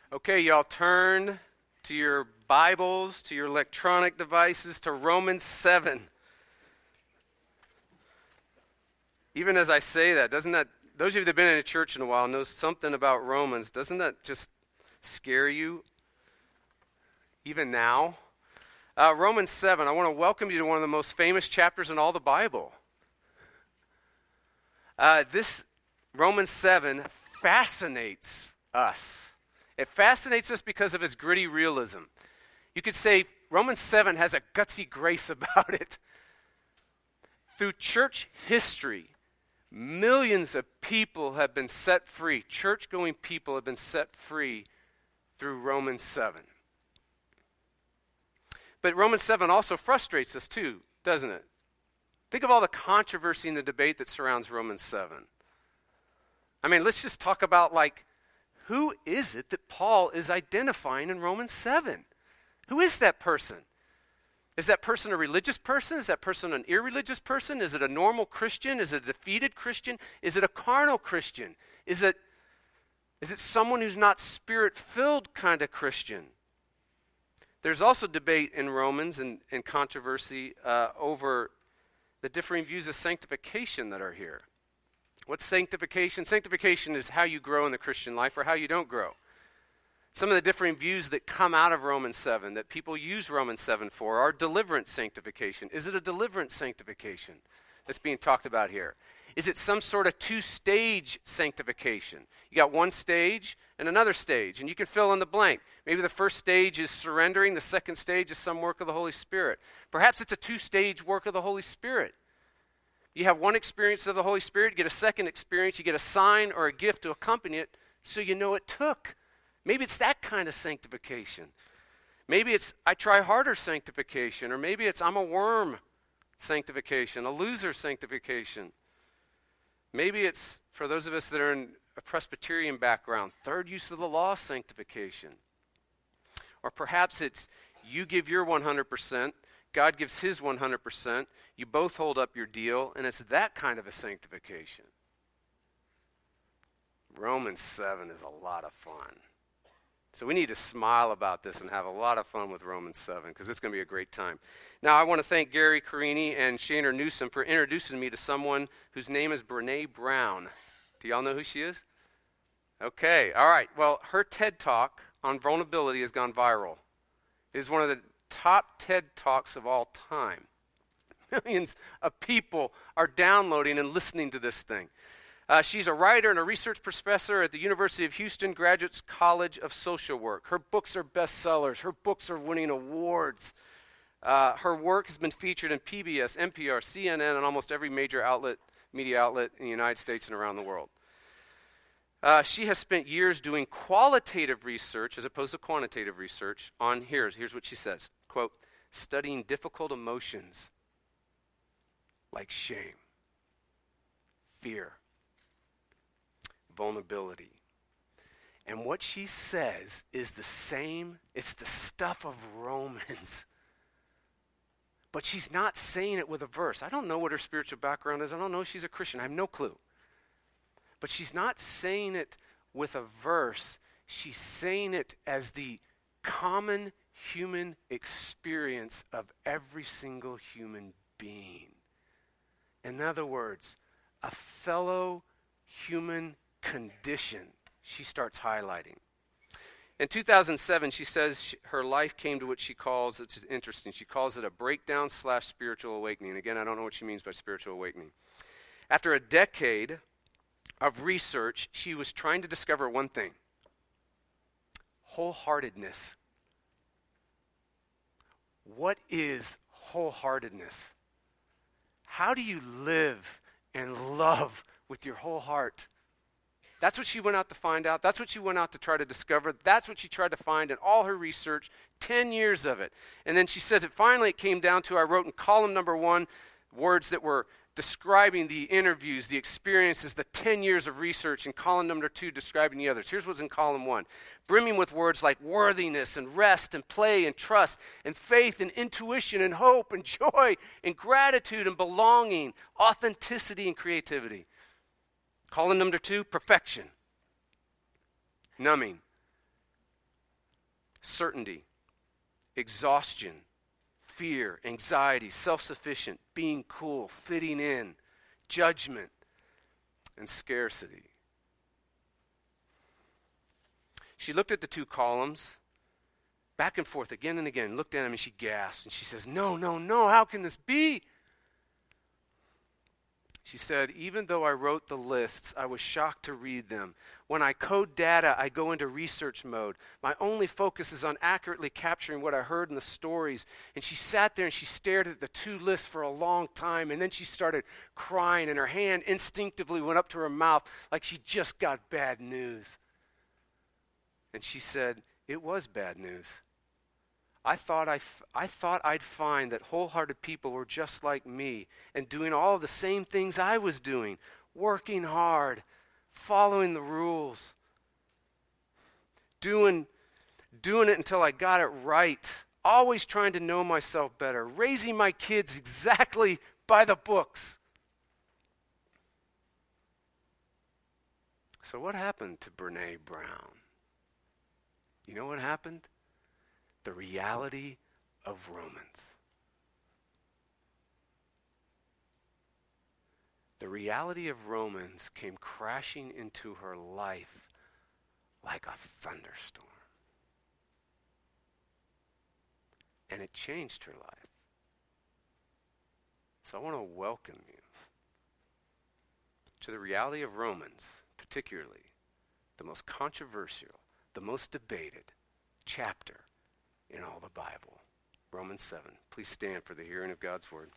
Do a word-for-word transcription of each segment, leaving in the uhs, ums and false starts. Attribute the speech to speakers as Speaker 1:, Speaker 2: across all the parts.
Speaker 1: Okay, y'all turn to your Bibles, to your electronic devices, to Romans seven. Even as I say that, doesn't that, those of you that have been in a church in a while know something about Romans. Doesn't that just scare you? Even now? Uh, Romans seven, I want to welcome you to one of the most famous chapters in all the Bible. Uh, this Romans seven fascinates us. It fascinates us because of its gritty realism. You could say Romans seven has a gutsy grace about it. Through church history, millions of people have been set free. Church-going people have been set free through Romans seven. But Romans seven also frustrates us too, doesn't it? Think of all the controversy and the debate that surrounds Romans seven. I mean, let's just talk about, like, who is it that Paul is identifying in Romans seven? Who is that person? Is that person a religious person? Is that person an irreligious person? Is it a normal Christian? Is it a defeated Christian? Is it a carnal Christian? Is it, is it someone who's not spirit-filled kind of Christian? There's also debate in Romans and, and controversy uh, over the differing views of sanctification that are here. What's sanctification? Sanctification is how you grow in the Christian life or how you don't grow. Some of the differing views that come out of Romans seven, that people use Romans seven for, are deliverance sanctification. Is it a deliverance sanctification that's being talked about here? Is it some sort of two-stage sanctification? You got one stage and another stage, and you can fill in the blank. Maybe the first stage is surrendering, the second stage is some work of the Holy Spirit. Perhaps it's a two-stage work of the Holy Spirit. You have one experience of the Holy Spirit, you get a second experience, you get a sign or a gift to accompany it, so you know it took. Maybe it's that kind of sanctification. Maybe it's I try harder sanctification, or maybe it's I'm a worm sanctification, a loser sanctification. Maybe it's, for those of us that are in a Presbyterian background, third use of the law sanctification. Or perhaps it's you give your one hundred percent, God gives his one hundred percent, you both hold up your deal, and it's that kind of a sanctification. Romans seven is a lot of fun. So we need to smile about this and have a lot of fun with Romans seven, because it's going to be a great time. Now, I want to thank Gary Carini and Shaner Newsom for introducing me to someone whose name is Brene Brown. Do y'all know who she is? Okay, all right. Well, her TED Talk on vulnerability has gone viral. It is one of the top TED Talks of all time. Millions of people are downloading and listening to this thing. Uh, she's a writer and a research professor at the University of Houston Graduate College of Social Work. Her books are bestsellers. Her books are winning awards. Uh, her work has been featured in P B S, N P R, C N N, and almost every major outlet, media outlet in the United States and around the world. Uh, she has spent years doing qualitative research as opposed to quantitative research on, here's, here's what she says, quote, studying difficult emotions like shame, fear, vulnerability. And what she says is the same, it's the stuff of Romans. But she's not saying it with a verse. I don't know what her spiritual background is. I don't know if she's a Christian. I have no clue. But she's not saying it with a verse. She's saying it as the common human experience of every single human being. In other words, a fellow human condition she starts highlighting. In two thousand seven, she says she, her life came to what she calls, it's interesting, she calls it a breakdown slash spiritual awakening. Again, I don't know what she means by spiritual awakening. After a decade of research, she was trying to discover one thing: wholeheartedness. What is wholeheartedness? How do you live and love with your whole heart? That's what she went out to find out. That's what she went out to try to discover. That's what she tried to find in all her research, ten years of it. And then she says it finally it came down to, I wrote in column number one, words that were describing the interviews, the experiences, the ten years of research, and column number two describing the others. Here's what's in column one. Brimming with words like worthiness and rest and play and trust and faith and intuition and hope and joy and gratitude and belonging, authenticity and creativity. Column number two, perfection. Numbing. uncertainty, exhaustion, fear, anxiety, self-sufficient, being cool, fitting in, judgment, and scarcity. She looked at the two columns, back and forth again and again, looked at them and she gasped and she says, no, no, no, how can this be? She said, even though I wrote the lists, I was shocked to read them. When I code data, I go into research mode. My only focus is on accurately capturing what I heard in the stories. And she sat there and she stared at the two lists for a long time, and then she started crying, and her hand instinctively went up to her mouth like she just got bad news. And she said, it was bad news. I thought, I, f- I thought I'd find that wholehearted people were just like me and doing all the same things I was doing, working hard, following the rules, doing, doing it until I got it right, always trying to know myself better, raising my kids exactly by the books. So what happened to Brene Brown? You know what happened? The reality of Romans. The reality of Romans came crashing into her life like a thunderstorm. And it changed her life. So I want to welcome you to the reality of Romans, particularly the most controversial, the most debated chapter in all the Bible. Romans seven. Please stand for the hearing of God's word.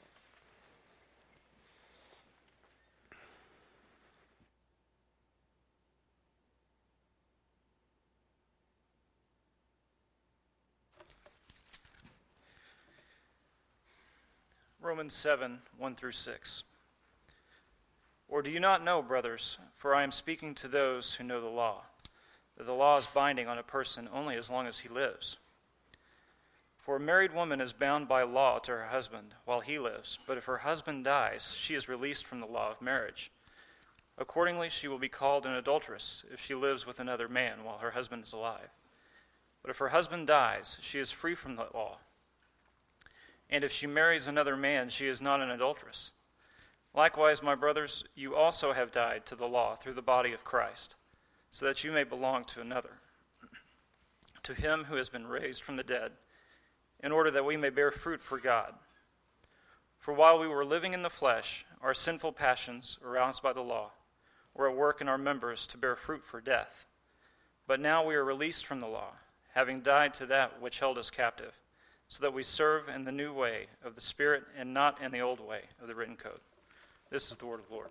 Speaker 2: Romans seven, one through six. Or do you not know, brothers, for I am speaking to those who know the law, that the law is binding on a person only as long as he lives? For a married woman is bound by law to her husband while he lives, but if her husband dies, she is released from the law of marriage. Accordingly, she will be called an adulteress if she lives with another man while her husband is alive. But if her husband dies, she is free from the law. And if she marries another man, she is not an adulteress. Likewise, my brothers, you also have died to the law through the body of Christ, so that you may belong to another, to him who has been raised from the dead, in order that we may bear fruit for God. For while we were living in the flesh, our sinful passions, aroused by the law, were at work in our members to bear fruit for death. But now we are released from the law, having died to that which held us captive, so that we serve in the new way of the Spirit and not in the old way of the written code. This is the word of the Lord.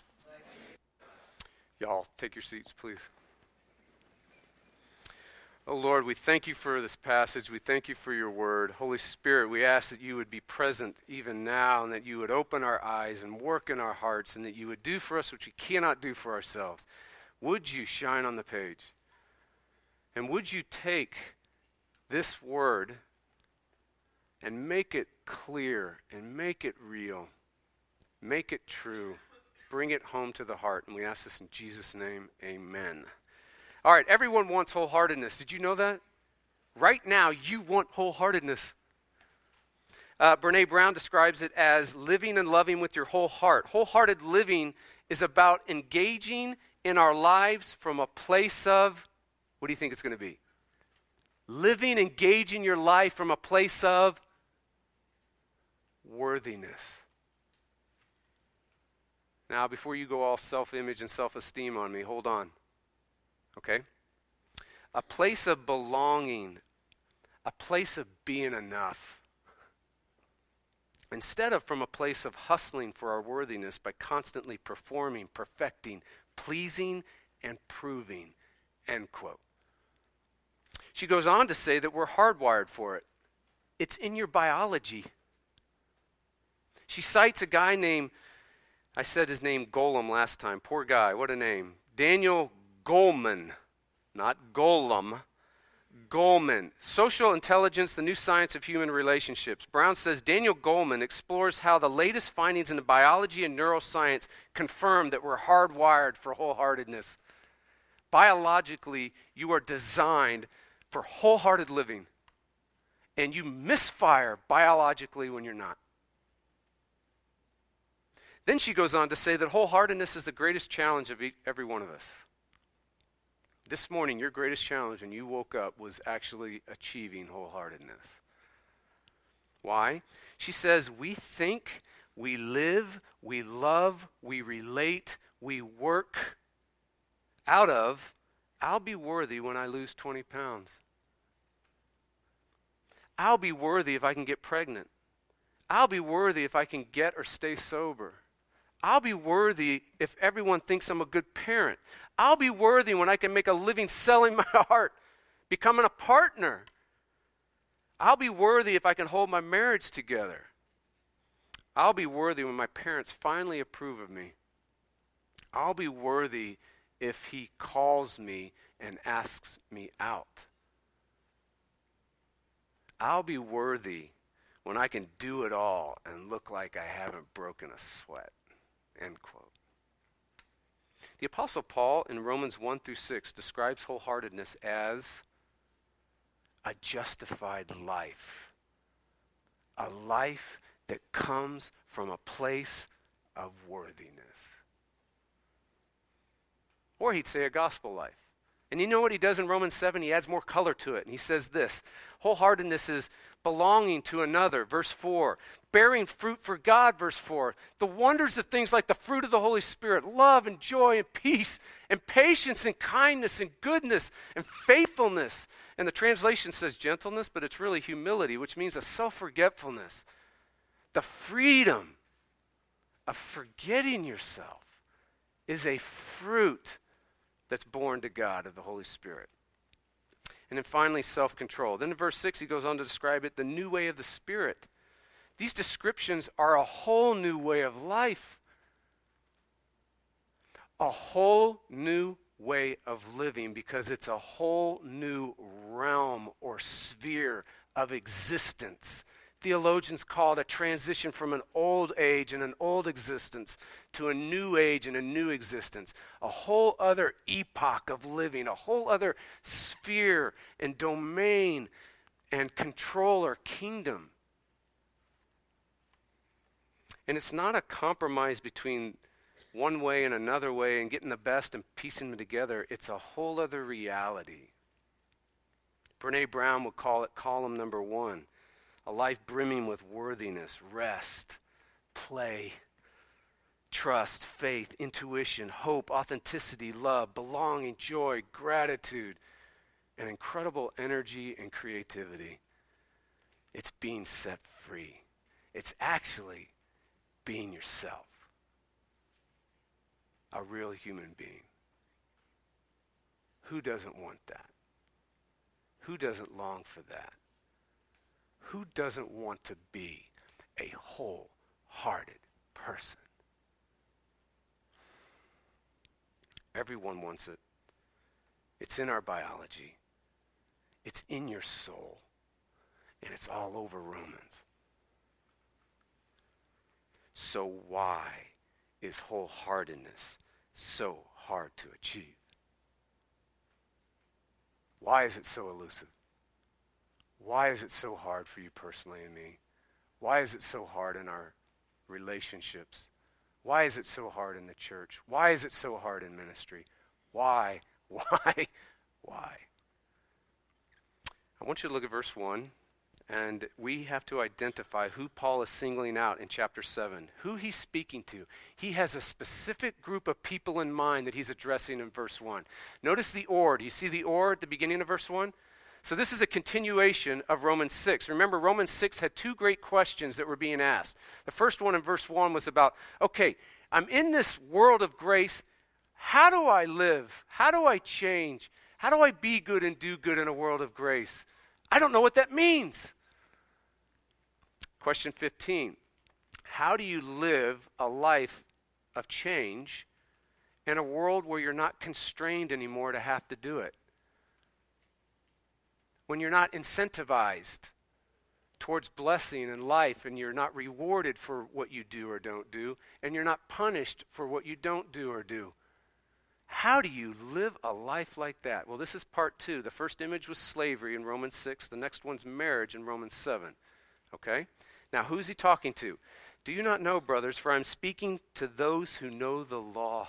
Speaker 1: Y'all, take your seats, please. Oh Lord, we thank you for this passage. We thank you for your word. Holy Spirit, we ask that you would be present even now, and that you would open our eyes and work in our hearts, and that you would do for us what we cannot do for ourselves. Would you shine on the page? And would you take this word and make it clear and make it real, make it true, bring it home to the heart. And we ask this in Jesus' name, amen. All right, everyone wants wholeheartedness. Did you know that? Right now, you want wholeheartedness. Uh, Brene Brown describes it as living and loving with your whole heart. Wholehearted living is about engaging in our lives from a place of, what do you think it's going to be? Living, engaging your life from a place of worthiness. Now, before you go all self-image and self-esteem on me, hold on. Okay? A place of belonging, a place of being enough. Instead of from a place of hustling for our worthiness by constantly performing, perfecting, pleasing, and proving. End quote. She goes on to say that we're hardwired for it. It's in your biology. She cites a guy named, I said his name Golem last time. Poor guy, what a name. Daniel Goleman, not Golem. Goleman, Social Intelligence, the New Science of Human Relationships. Brown says Daniel Goleman explores how the latest findings in biology and neuroscience confirm that we're hardwired for wholeheartedness. Biologically, you are designed for wholehearted living, and you misfire biologically when you're not. Then she goes on to say that wholeheartedness is the greatest challenge of every one of us. This morning, your greatest challenge when you woke up was actually achieving wholeheartedness. Why? She says, we think, we live, we love, we relate, we work out of, I'll be worthy when I lose twenty pounds. I'll be worthy if I can get pregnant. I'll be worthy if I can get or stay sober. I'll be worthy if everyone thinks I'm a good parent. I'll be worthy when I can make a living selling my art, becoming a partner. I'll be worthy if I can hold my marriage together. I'll be worthy when my parents finally approve of me. I'll be worthy if he calls me and asks me out. I'll be worthy when I can do it all and look like I haven't broken a sweat. End quote. The Apostle Paul in Romans one through six describes wholeheartedness as a justified life. A life that comes from a place of worthiness. Or he'd say a gospel life. And you know what he does in Romans seven? He adds more color to it. And he says this, wholeheartedness is belonging to another, verse four. Bearing fruit for God, verse four. The wonders of things like the fruit of the Holy Spirit, love and joy and peace and patience and kindness and goodness and faithfulness. And the translation says gentleness, but it's really humility, which means a self-forgetfulness. The freedom of forgetting yourself is a fruit that's born to God of the Holy Spirit. And then finally, self-control. Then in verse six, he goes on to describe it, the new way of the Spirit. These descriptions are a whole new way of life. A whole new way of living, because it's a whole new realm or sphere of existence. Theologians call it a transition from an old age and an old existence to a new age and a new existence. A whole other epoch of living, a whole other sphere and domain and control or kingdom. And it's not a compromise between one way and another way and getting the best and piecing them together. It's a whole other reality. Brene Brown would call it column number one. A life brimming with worthiness, rest, play, trust, faith, intuition, hope, authenticity, love, belonging, joy, gratitude, and incredible energy and creativity. It's being set free. It's actually being yourself. A real human being. Who doesn't want that? Who doesn't long for that? Who doesn't want to be a wholehearted person? Everyone wants it. It's in our biology. It's in your soul. And it's all over Romans. So why is wholeheartedness so hard to achieve? Why is it so elusive? Why is it so hard for you personally and me? Why is it so hard in our relationships? Why is it so hard in the church? Why is it so hard in ministry? Why? Why? Why? I want you to look at verse one, and we have to identify who Paul is singling out in chapter seven, who he's speaking to. He has a specific group of people in mind that he's addressing in verse one. Notice the or. Do you see the or at the beginning of verse one? So this is a continuation of Romans six. Remember, Romans six had two great questions that were being asked. The first one in verse one was about, okay, I'm in this world of grace. How do I live? How do I change? How do I be good and do good in a world of grace? I don't know what that means. Question fifteen, how do you live a life of change in a world where you're not constrained anymore to have to do it? When you're not incentivized towards blessing and life, and you're not rewarded for what you do or don't do, and you're not punished for what you don't do or do. How do you live a life like that? Well, this is part two. The first image was slavery in Romans six. The next one's marriage in Romans seven. Okay? Now, who's he talking to? Do you not know, brothers, for I'm speaking to those who know the law.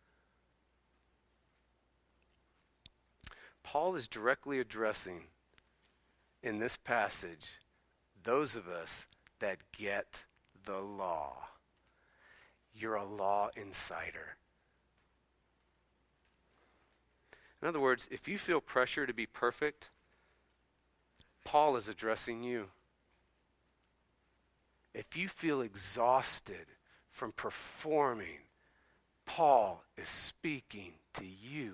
Speaker 1: Paul is directly addressing in this passage those of us that get the law. You're a law insider. In other words, if you feel pressure to be perfect, Paul is addressing you. If you feel exhausted from performing, Paul is speaking to you.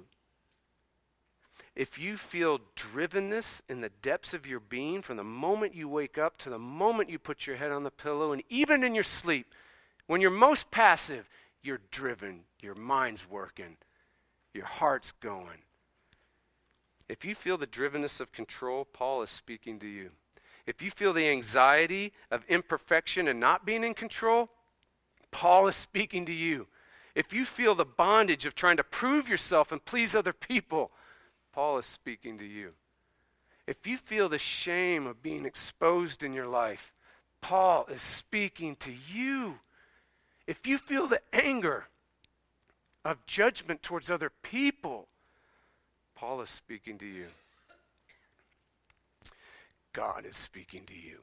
Speaker 1: If you feel drivenness in the depths of your being from the moment you wake up to the moment you put your head on the pillow, and even in your sleep, when you're most passive, you're driven, your mind's working, your heart's going. If you feel the drivenness of control, Paul is speaking to you. If you feel the anxiety of imperfection and not being in control, Paul is speaking to you. If you feel the bondage of trying to prove yourself and please other people, Paul is speaking to you. If you feel the shame of being exposed in your life, Paul is speaking to you. If you feel the anger of judgment towards other people, Paul is speaking to you. God is speaking to you.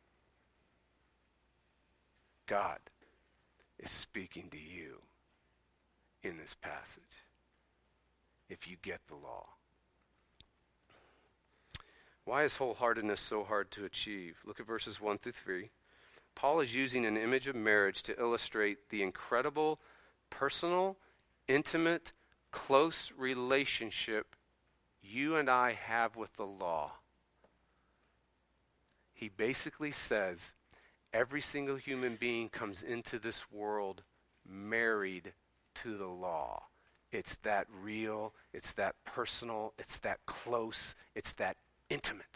Speaker 1: God is speaking to you in this passage. If you get the law. Why is wholeheartedness so hard to achieve? Look at verses one through three. Paul is using an image of marriage to illustrate the incredible, personal, intimate, close relationship you and I have with the law. He basically says every single human being comes into this world married to the law. It's that real, it's that personal, it's that close, it's that intimate.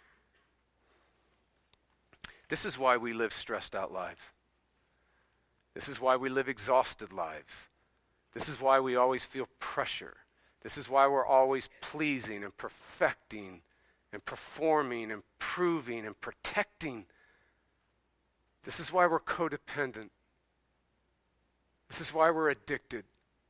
Speaker 1: This is why we live stressed out lives. This is why we live exhausted lives. This is why we always feel pressure. This is why we're always pleasing and perfecting and performing and proving and protecting. This is why we're codependent. This is why we're addicted.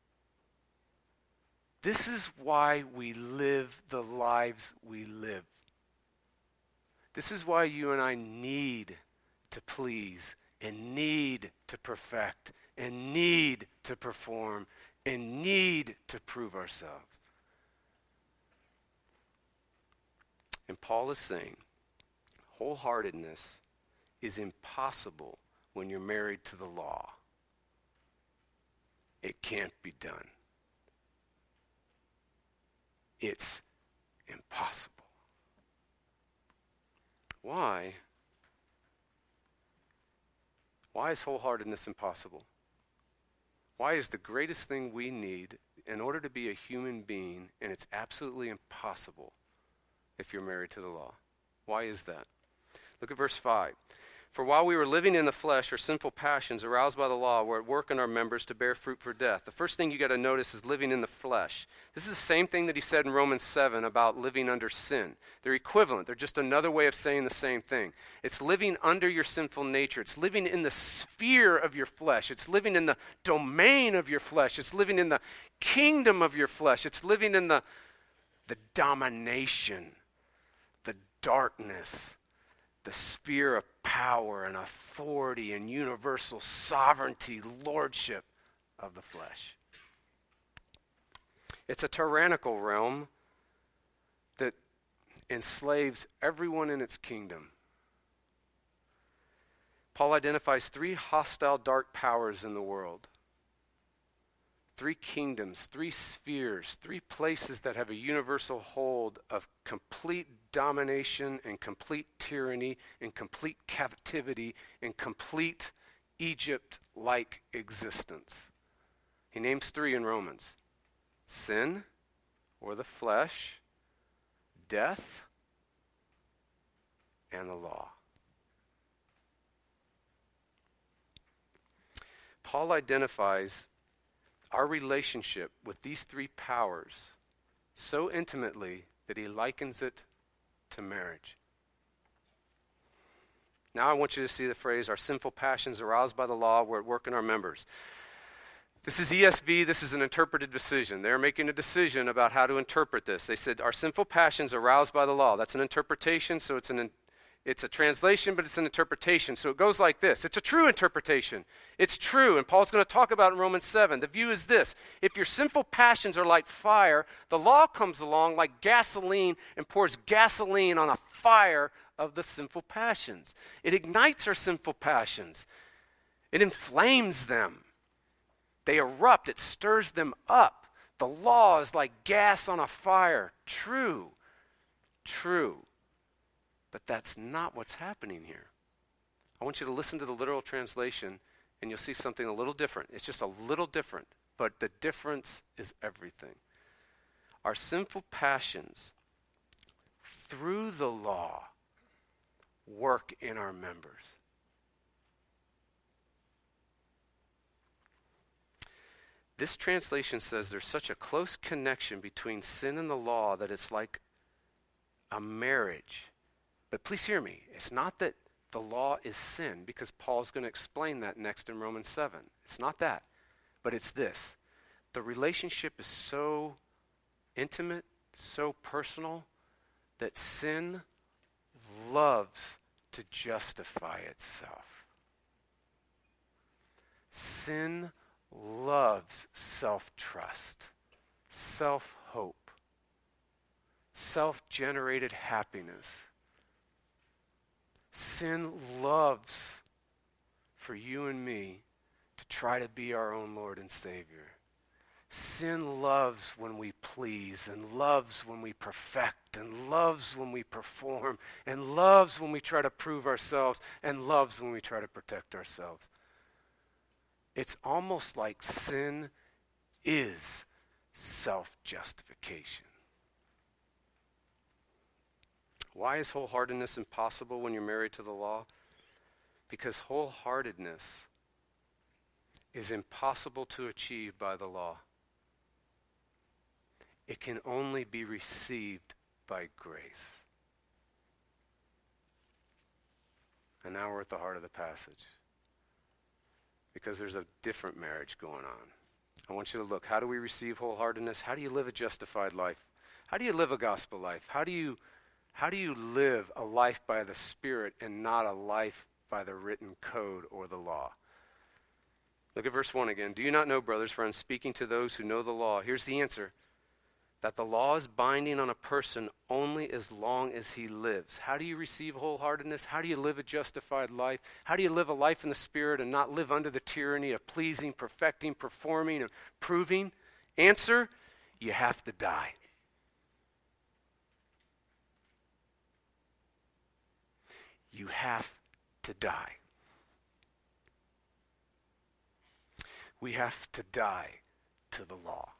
Speaker 1: This is why we live the lives we live. This is why you and I need to please and need to perfect and need to perform and need to prove ourselves. And Paul is saying wholeheartedness is impossible when you're married to the law. It can't be done. It's impossible. Why? Why is wholeheartedness impossible? Why is the greatest thing we need in order to be a human being, and it's absolutely impossible if you're married to the law? Why is that? Look at verse five. For while we were living in the flesh, our sinful passions aroused by the law were at work in our members to bear fruit for death. The first thing you got to notice is living in the flesh. This is the same thing that he said in Romans seven about living under sin. They're equivalent. They're just another way of saying the same thing. It's living under your sinful nature. It's living in the sphere of your flesh. It's living in the domain of your flesh. It's living in the kingdom of your flesh. It's living in the, the domination, the darkness, the sphere of power and authority and universal sovereignty, lordship of the flesh. It's a tyrannical realm that enslaves everyone in its kingdom. Paul identifies three hostile dark powers in the world. Three kingdoms, three spheres, three places that have a universal hold of complete domination and complete tyranny and complete captivity and complete Egypt-like existence. He names three in Romans: sin, or the flesh, death, and the law. Paul identifies our relationship with these three powers so intimately that he likens it to marriage. Now I want you to see the phrase, our sinful passions aroused by the law were at work in our members. This is E S V. This is an interpreted decision. They're making a decision about how to interpret this. They said, our sinful passions aroused by the law. That's an interpretation, so it's an it's a translation, but it's an interpretation. So it goes like this. It's a true interpretation. It's true, and Paul's going to talk about it in Romans seven. The view is this. If your sinful passions are like fire, the law comes along like gasoline and pours gasoline on a fire of the sinful passions. It ignites our sinful passions. It inflames them. They erupt. It stirs them up. The law is like gas on a fire. True. True. But that's not what's happening here. I want you to listen to the literal translation, and you'll see something a little different. It's just a little different, but the difference is everything. Our sinful passions, through the law, work in our members. This translation says there's such a close connection between sin and the law that it's like a marriage. But please hear me. It's not that the law is sin, because Paul's going to explain that next in Romans seven. It's not that. But it's this. The relationship is so intimate, so personal, that sin loves to justify itself. Sin loves self-trust, self-hope, self-generated happiness. Sin loves for you and me to try to be our own Lord and Savior. Sin loves when we please, and loves when we perfect, and loves when we perform, and loves when we try to prove ourselves, and loves when we try to protect ourselves. It's almost like sin is self-justification. Why is wholeheartedness impossible when you're married to the law? Because wholeheartedness is impossible to achieve by the law. It can only be received by grace. And now we're at the heart of the passage. Because there's a different marriage going on. I want you to look. How do we receive wholeheartedness? How do you live a justified life? How do you live a gospel life? How do you How do you live a life by the Spirit and not a life by the written code or the law? Look at verse one again. Do you not know, brothers, for I'm speaking to those who know the law. Here's the answer. That the law is binding on a person only as long as he lives. How do you receive wholeheartedness? How do you live a justified life? How do you live a life in the Spirit and not live under the tyranny of pleasing, perfecting, performing, and proving? Answer, you have to die. You have to die. We have to die to the law.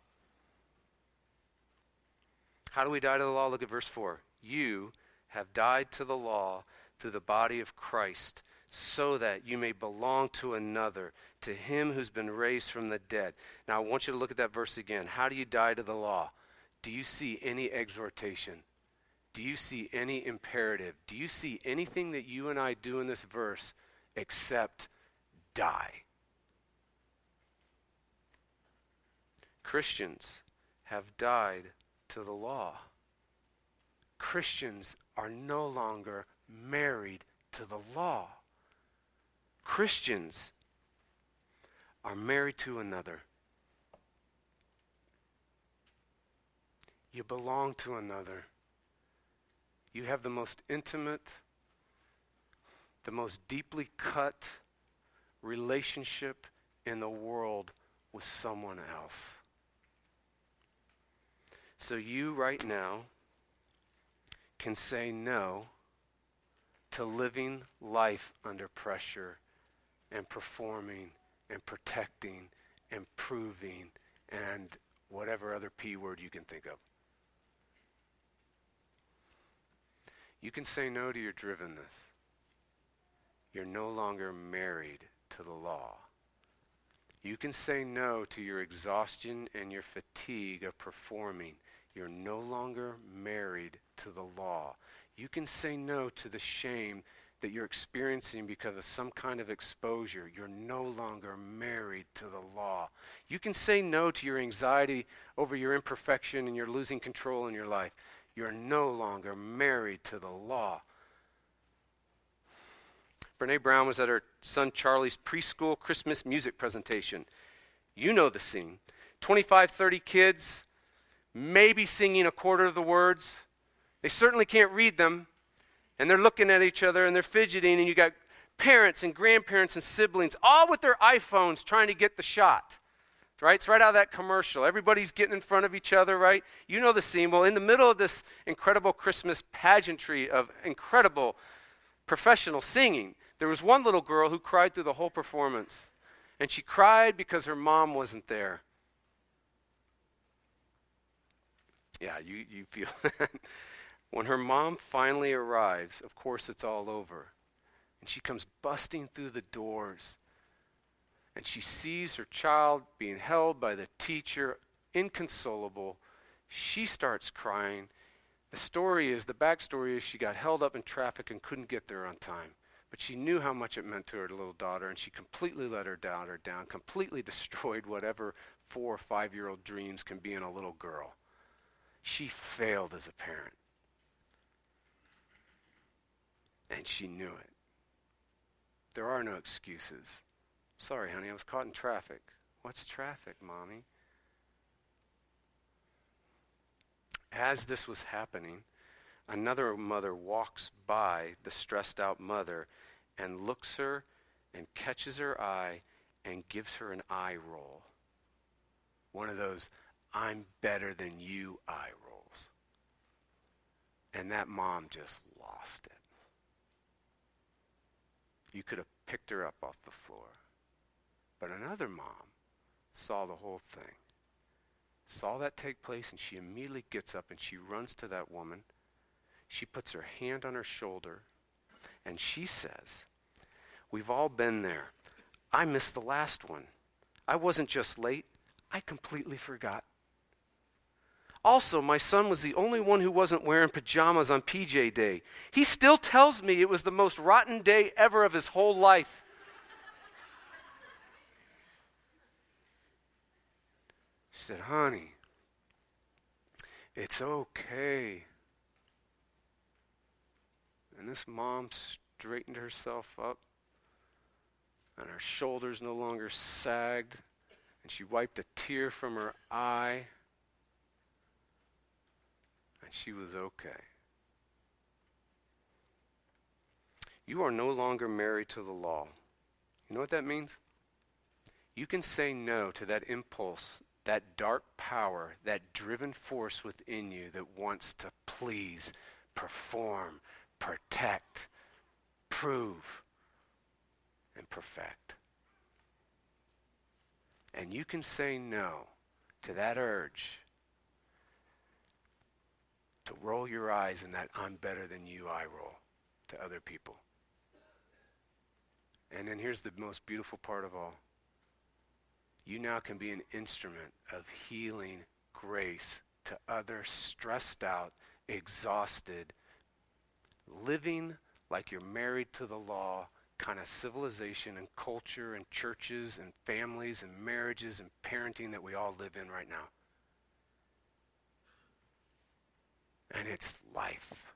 Speaker 1: How do we die to the law? Look at verse four. You have died to the law through the body of Christ, so that you may belong to another, to him who's been raised from the dead. Now I want you to look at that verse again. How do you die to the law? Do you see any exhortation? Do you see any imperative? Do you see anything that you and I do in this verse except die? Christians have died to the law. Christians are no longer married to the law. Christians are married to another. You belong to another. You have the most intimate, the most deeply cut relationship in the world with someone else. So you right now can say no to living life under pressure and performing and protecting and proving and whatever other P word you can think of. You can say no to your drivenness. You're no longer married to the law. You can say no to your exhaustion and your fatigue of performing. You're no longer married to the law. You can say no to the shame that you're experiencing because of some kind of exposure. You're no longer married to the law. You can say no to your anxiety over your imperfection and you're losing control in your life. You're no longer married to the law. Brene Brown was at her son Charlie's preschool Christmas music presentation. You know the scene. twenty-five, thirty kids, maybe singing a quarter of the words. They certainly can't read them. And they're looking at each other and they're fidgeting, and you got parents and grandparents and siblings all with their iPhones trying to get the shot. Right? It's right out of that commercial. Everybody's getting in front of each other, right? You know the scene. Well, in the middle of this incredible Christmas pageantry of incredible professional singing, there was one little girl who cried through the whole performance. And she cried because her mom wasn't there. Yeah, you, you feel that. When her mom finally arrives, of course it's all over. And she comes busting through the doors. And she sees her child being held by the teacher, inconsolable. She starts crying. The story is, the backstory is she got held up in traffic and couldn't get there on time. But she knew how much it meant to her little daughter, and she completely let her daughter down, completely destroyed whatever four or five-year-old dreams can be in a little girl. She failed as a parent. And she knew it. There are no excuses. Sorry, honey, I was caught in traffic. What's traffic, Mommy? As this was happening, another mother walks by the stressed out mother and looks her and catches her eye and gives her an eye roll. One of those, I'm better than you eye rolls. And that mom just lost it. You could have picked her up off the floor. But another mom saw the whole thing, saw that take place, and she immediately gets up and she runs to that woman. She puts her hand on her shoulder, and she says, we've all been there. I missed the last one. I wasn't just late. I completely forgot. Also, my son was the only one who wasn't wearing pajamas on P J Day. He still tells me it was the most rotten day ever of his whole life. She said, honey, it's okay. And this mom straightened herself up, and her shoulders no longer sagged, and she wiped a tear from her eye, and she was okay. You are no longer married to the law. You know what that means? You can say no to that impulse, that dark power, that driven force within you that wants to please, perform, protect, prove, and perfect. And you can say no to that urge to roll your eyes in that I'm better than you eye roll to other people. And then here's the most beautiful part of all. You now can be an instrument of healing grace to other stressed out, exhausted, living like you're married to the law kind of civilization and culture and churches and families and marriages and parenting that we all live in right now. And it's life.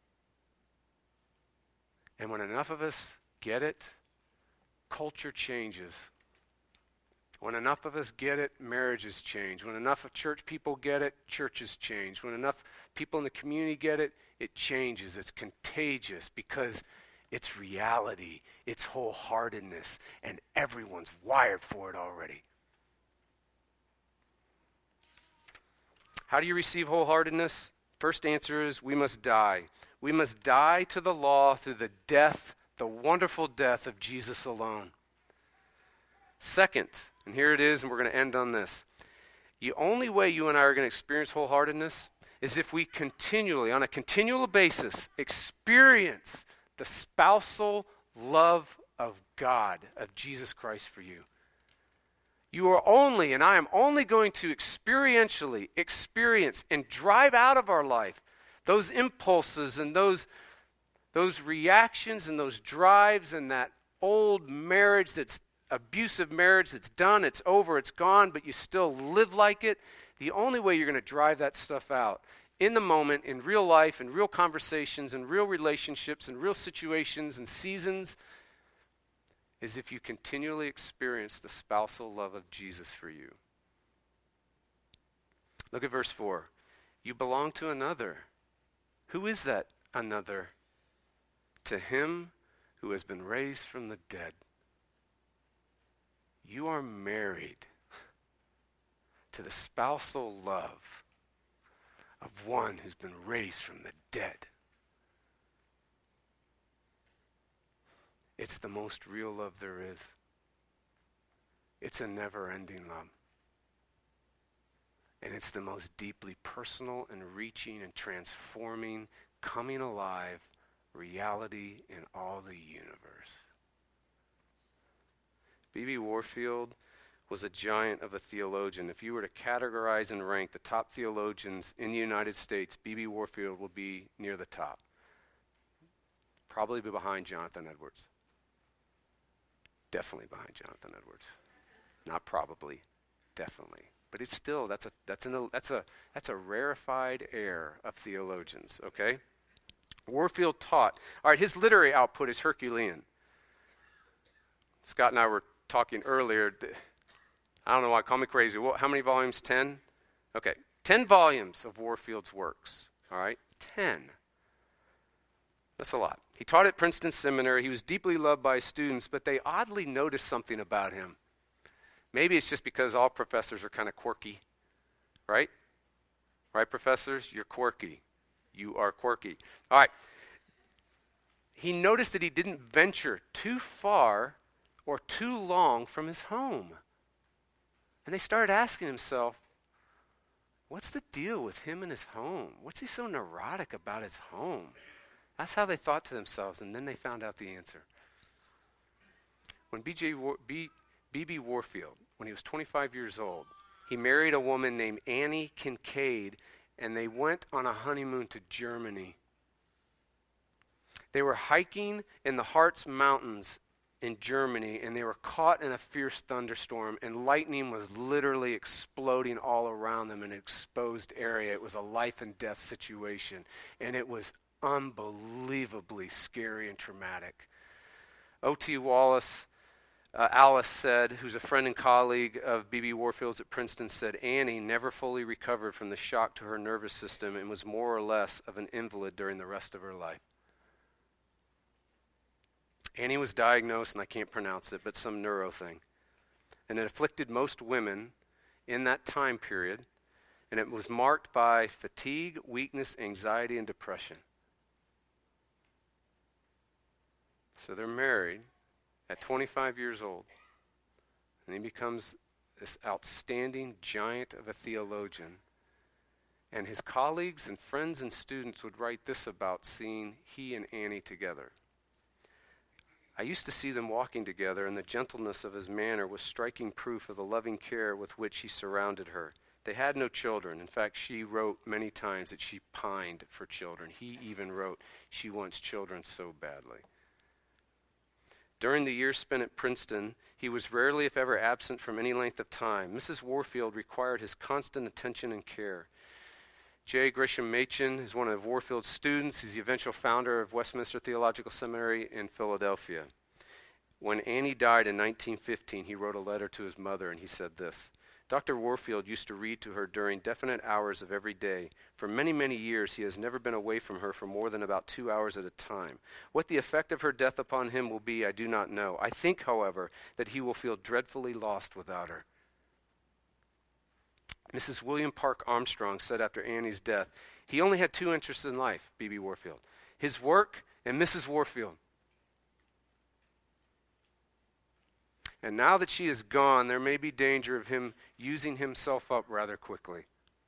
Speaker 1: And when enough of us get it, culture changes. When enough of us get it, marriages change. When enough of church people get it, churches change. When enough people in the community get it, it changes. It's contagious because it's reality. It's wholeheartedness. And everyone's wired for it already. How do you receive wholeheartedness? First answer is we must die. We must die to the law through the death, the wonderful death of Jesus alone. Second, and here it is, and we're going to end on this. The only way you and I are going to experience wholeheartedness is if we continually, on a continual basis, experience the spousal love of God, of Jesus Christ for you. You are only, and I am only going to experientially experience and drive out of our life those impulses and those, those reactions and those drives and that old marriage that's abusive marriage that's done, it's over, it's gone, but you still live like it. The only way you're going to drive that stuff out in the moment, in real life, in real conversations, in real relationships, in real situations and seasons, is if you continually experience the spousal love of Jesus for you. Look at verse four. You belong to another. Who is that another? To him who has been raised from the dead. You are married to the spousal love of one who's been raised from the dead. It's the most real love there is. It's a never-ending love. And it's the most deeply personal and reaching and transforming, coming alive reality in all the universe. B B Warfield was a giant of a theologian. If you were to categorize and rank the top theologians in the United States, B B Warfield will be near the top. Probably be behind Jonathan Edwards. Definitely behind Jonathan Edwards. Not probably, definitely. But it's still, that's a that's an that's a that's a rarefied air of theologians, okay? Warfield taught. All right, his literary output is Herculean. Scott and I were talking earlier. I don't know why, call me crazy. Well, how many volumes? Ten? Okay, ten volumes of Warfield's works, all right? Ten. That's a lot. He taught at Princeton Seminary. He was deeply loved by his students, but they oddly noticed something about him. Maybe it's just because all professors are kind of quirky, right? Right, professors? You're quirky. You are quirky. All right. He noticed that he didn't venture too far or too long from his home. And they started asking himself, what's the deal with him and his home? What's he so neurotic about his home? That's how they thought to themselves, and then they found out the answer. When B J War- B. B.B. Warfield, when he was twenty-five years old, he married a woman named Annie Kincaid, and they went on a honeymoon to Germany. They were hiking in the Harz Mountains in Germany, and they were caught in a fierce thunderstorm, and lightning was literally exploding all around them in an exposed area. It was a life and death situation, and it was unbelievably scary and traumatic. O T Wallace, uh, Alice said, who's a friend and colleague of B B Warfield's at Princeton, said Annie never fully recovered from the shock to her nervous system and was more or less of an invalid during the rest of her life. Annie was diagnosed, and I can't pronounce it, but some neuro thing. And it afflicted most women in that time period, and it was marked by fatigue, weakness, anxiety, and depression. So they're married at twenty-five years old, and he becomes this outstanding giant of a theologian. And his colleagues and friends and students would write this about seeing he and Annie together. I used to see them walking together, and the gentleness of his manner was striking proof of the loving care with which he surrounded her. They had no children. In fact, she wrote many times that she pined for children. He even wrote, she wants children so badly. During the years spent at Princeton, he was rarely, if ever, absent from any length of time. Missus Warfield required his constant attention and care. J. Gresham Machen is one of Warfield's students. He's the eventual founder of Westminster Theological Seminary in Philadelphia. When Annie died in nineteen fifteen, he wrote a letter to his mother, and he said this: Doctor Warfield used to read to her during definite hours of every day. For many, many years, he has never been away from her for more than about two hours at a time. What the effect of her death upon him will be, I do not know. I think, however, that he will feel dreadfully lost without her. Missus William Park Armstrong said after Annie's death, he only had two interests in life, B B Warfield: his work and Missus Warfield. And now that she is gone, there may be danger of him using himself up rather quickly.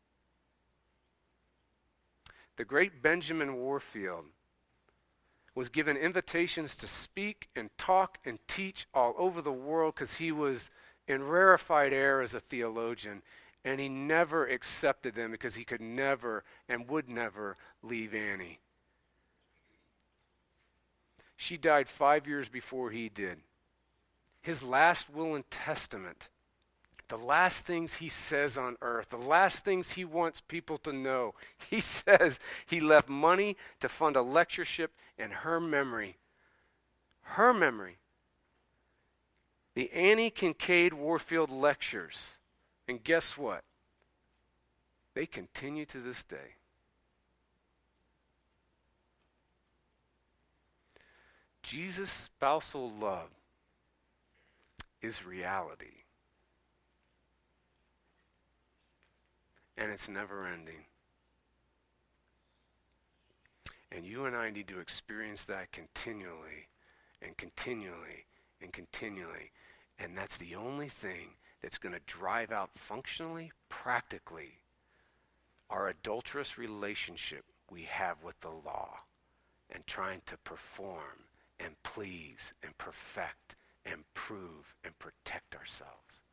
Speaker 1: The great Benjamin Warfield was given invitations to speak and talk and teach all over the world because he was in rarefied air as a theologian, and he never accepted them because he could never and would never leave Annie. She died five years before he did. His last will and testament, the last things he says on earth, the last things he wants people to know, he says he left money to fund a lectureship in her memory. Her memory. The Annie Kincaid Warfield Lectures. And guess what? They continue to this day. Jesus' spousal love is reality. And it's never ending. And you and I need to experience that continually and continually and continually. And that's the only thing that's going to drive out functionally, practically, our adulterous relationship we have with the law and trying to perform and please and perfect and prove and protect ourselves.